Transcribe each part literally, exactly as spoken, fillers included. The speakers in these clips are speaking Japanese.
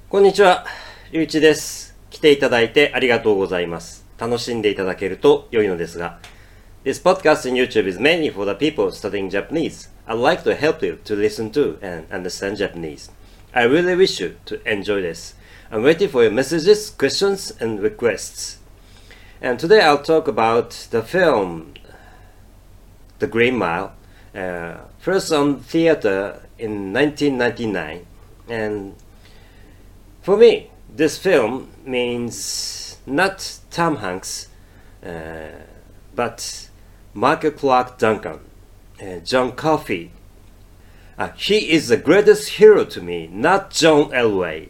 こんにちは、ゆういちです。来ていただいてありがとうございます。楽しんでいただけると良いのですが。This podcast in YouTube is mainly for the people studying Japanese. I'd like to help you to listen to and understand Japanese. I really wish you to enjoy this. I'm waiting for your messages, questions, and requests. And today I'll talk about the film The Green Mile, uh, first on theater in nineteen ninety-nine. And for me, this film means not Tom Hanks, uh, but Michael Clark Duncan, uh, John Coffey. Uh, he is the greatest hero to me, not John Elway.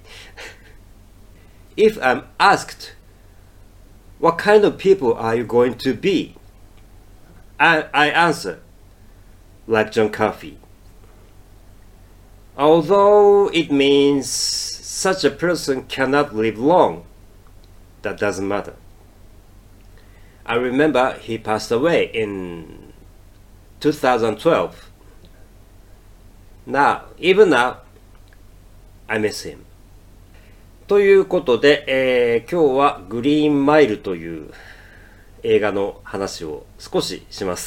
If I'm asked, what kind of people are you going to be? I, I answer, like John Coffey. Although it means such a person cannot live long, that doesn't matter. I remember he passed away in two thousand twelve. Now, even now, I miss him. ということで、えー今日はグリーンマイルという映画の話を少しします。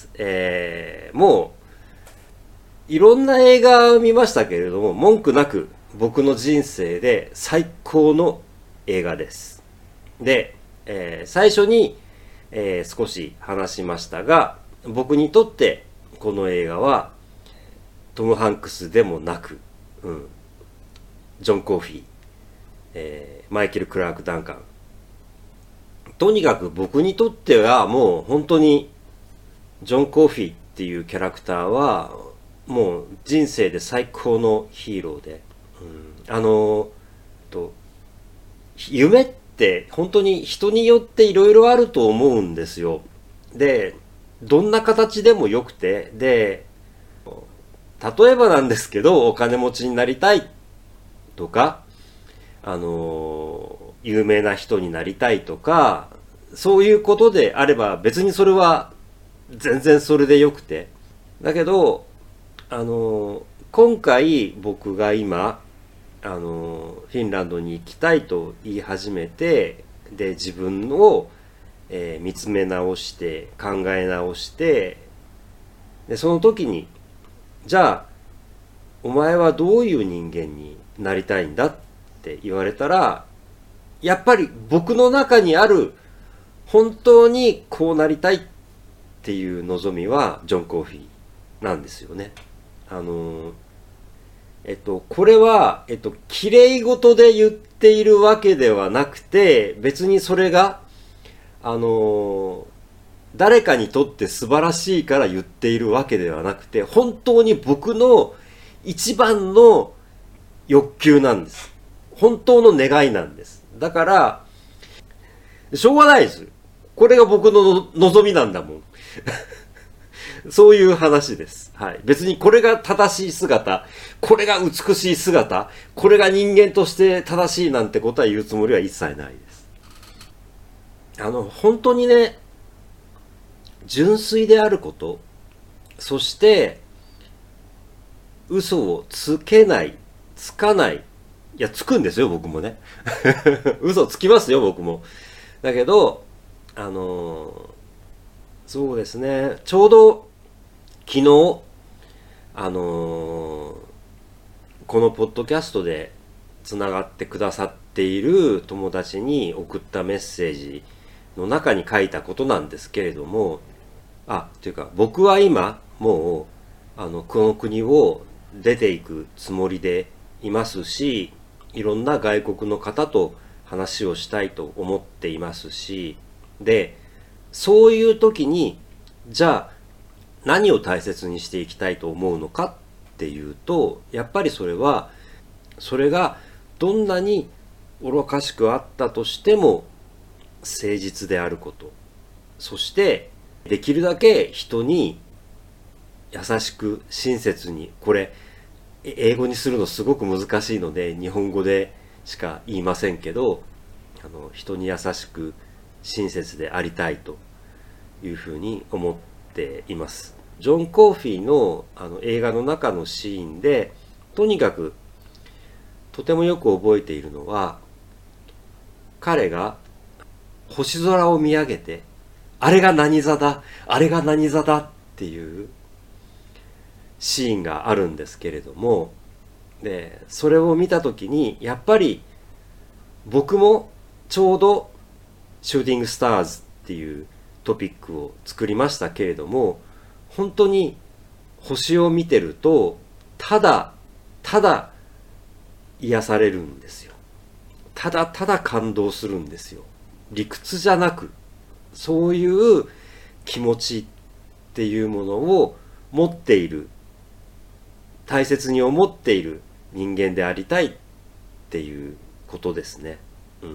えーもういろんな映画を見ましたけれども、文句なく僕の人生で最高の映画です。で、えー最初に、えー少し話しましたが、僕にとってこの映画はトム・ハンクスでもなく、うん、ジョン・コーフィー、えーマイケル・クラーク・ダンカン。とにかく僕にとってはもう本当にジョン・コーフィーっていうキャラクターはもう人生で最高のヒーローで、うん、あのと夢って本当に人によっていろいろあると思うんですよ。で、どんな形でもよくて、で、例えばなんですけど、お金持ちになりたいとか、あの、有名な人になりたいとか、そういうことであれば別にそれは全然それでよくて。だけど、あの、今回僕が今、あの、フィンランドに行きたいと言い始めて、で、自分を、えー見つめ直して、考え直して、で、その時に、じゃあ、お前はどういう人間になりたいんだって言われたら、やっぱり僕の中にある本当にこうなりたいっていう望みはジョン・コーフィーなんですよね。あの、えっと、これは、えっと、綺麗事で言っているわけではなくて、別にそれが、あの、誰かにとって素晴らしいから言っているわけではなくて、本当に僕の一番の欲求なんです。本当の願いなんです。だから、しょうがないです。これが僕の望みなんだもん。そういう話です。はい。別にこれが正しい姿、これが美しい姿、これが人間として正しいなんてことは言うつもりは一切ないです。あの、本当にね、純粋であること、そして、嘘をつけない、つかない、いや、つくんですよ、僕もね。嘘つきますよ、僕も。だけど、あのーそうですね、ちょうど昨日、あのーこのポッドキャストでつながってくださっている友達に送ったメッセージの中に書いたことなんですけれども、あ、というか、僕は今、もう、あの、この国を出ていくつもりでいますし、いろんな外国の方と話をしたいと思っていますし、で、そういう時に、じゃあ何を大切にしていきたいと思うのかっていうと、やっぱりそれは、それがどんなに愚かしくあったとしても誠実であること。そしてできるだけ人に優しく親切に、これ英語にするのすごく難しいので日本語でしか言いませんけど、あの人に優しく親切でありたいというふうに思っています。ジョン・コーフィーの、あの映画の中のシーンで、とにかくとてもよく覚えているのは、彼が星空を見上げて、あれが何座だ、あれが何座だっていうシーンがあるんですけれども、でそれを見た時にやっぱり僕もちょうどシューティングスターズっていうトピックを作りましたけれども、本当に星を見てるとただただ癒されるんですよ。ただただ感動するんですよ。理屈じゃなく、そういう気持ちっていうものを持っている、大切に思っている人間でありたいっていうことですね。うん、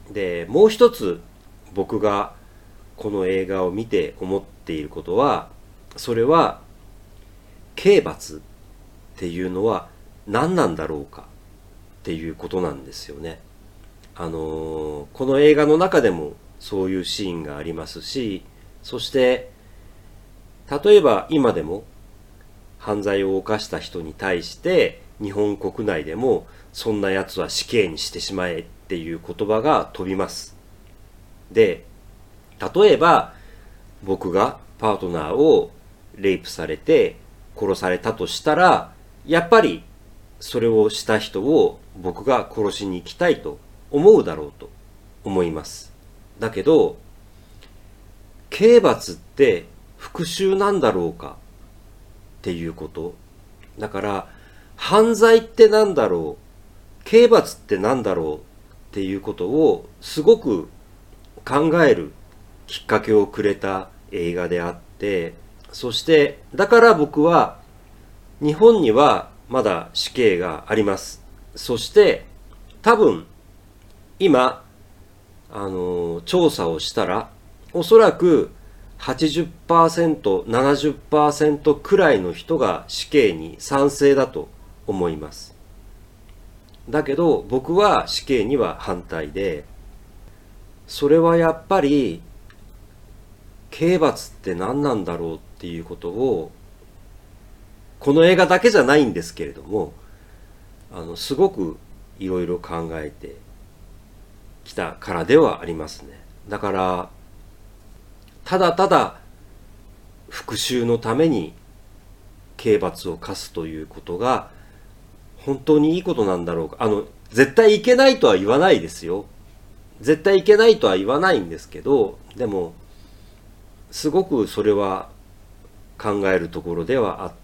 でもう一つ僕がこの映画を見て思っていることは、それは刑罰っていうのは何なんだろうかっていうことなんですよね。あのー、この映画の中でもそういうシーンがありますし、そして例えば今でも犯罪を犯した人に対して日本国内でもそんなやつは死刑にしてしまえっていう言葉が飛びます。で、例えば僕がパートナーをレイプされて殺されたとしたら、やっぱりそれをした人を僕が殺しに行きたいと思うだろうと思います。だけど刑罰って復讐なんだろうかっていうこと。だから犯罪ってなんだろう、刑罰ってなんだろうっていうことをすごく考えるきっかけをくれた映画であって、そしてだから僕は日本にはまだ死刑があります。そして多分今あの調査をしたらおそらく はちじゅっパーセント、ななじゅっパーセント くらいの人が死刑に賛成だと思います。だけど僕は死刑には反対で、それはやっぱり刑罰って何なんだろうっていうことを、この映画だけじゃないんですけれども、あのすごくいろいろ考えてきたからではありますね。だからただただ復讐のために刑罰を課すということが本当にいいことなんだろうか。あの絶対いけないとは言わないですよ。絶対いけないとは言わないんですけど、でもすごくそれは考えるところではあって、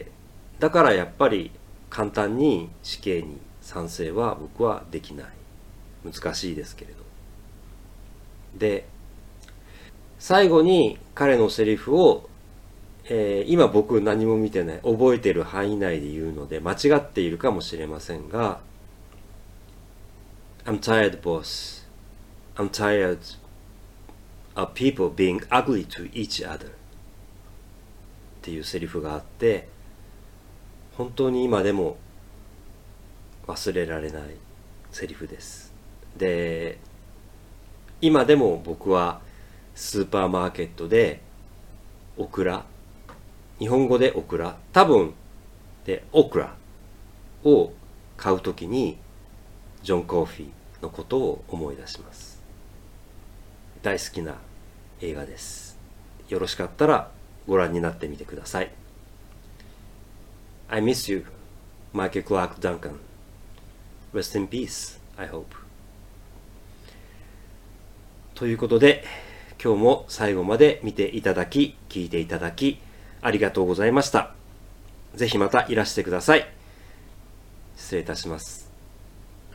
だからやっぱり簡単に死刑に賛成は僕はできない。難しいですけれど。で最後に彼のセリフを、えー、今僕何も見てない、覚えている範囲内で言うので間違っているかもしれませんが、 I'm tired, boss. I'm tired of people being ugly to each other っていうセリフがあって、本当に今でも忘れられないセリフです。で今でも僕はスーパーマーケットでオクラ、日本語でオクラ、多分でオクラを買うときにジョン・コーフィーのことを思い出します。大好きな映画です。よろしかったらご覧になってみてください。 I miss you, Michael Clark Duncan. Rest in peace, I hope. ということで今日も最後まで見ていただき、聞いていただきありがとうございました。ぜひまたいらしてください。失礼いたします。